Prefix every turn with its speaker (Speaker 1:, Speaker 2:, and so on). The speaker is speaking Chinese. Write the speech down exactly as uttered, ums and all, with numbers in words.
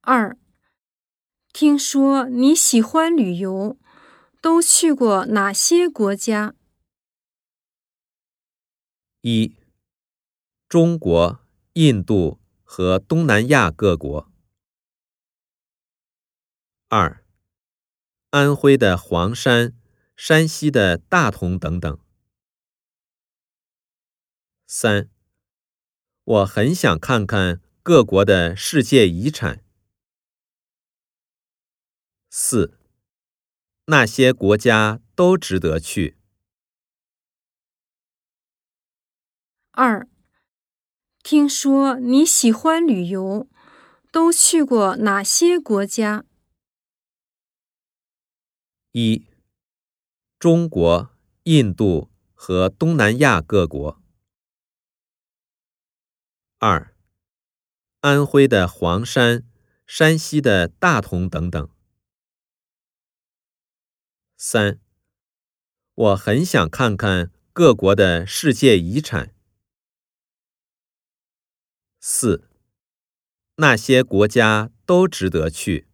Speaker 1: 二，听说你喜欢旅游，都去过哪些国家？
Speaker 2: 一、中国、印度和东南亚各国。二、安徽的黄山、山西的大同等等。三、我很想看看各国的世界遗产。四、那些国家都值得去。
Speaker 1: 二，听说你喜欢旅游，都去过哪些国家？
Speaker 2: 一、中国、印度和东南亚各国。二、安徽的黄山、山西的大同等等。三、我很想看看各国的世界遗产。四、那些国家都值得去。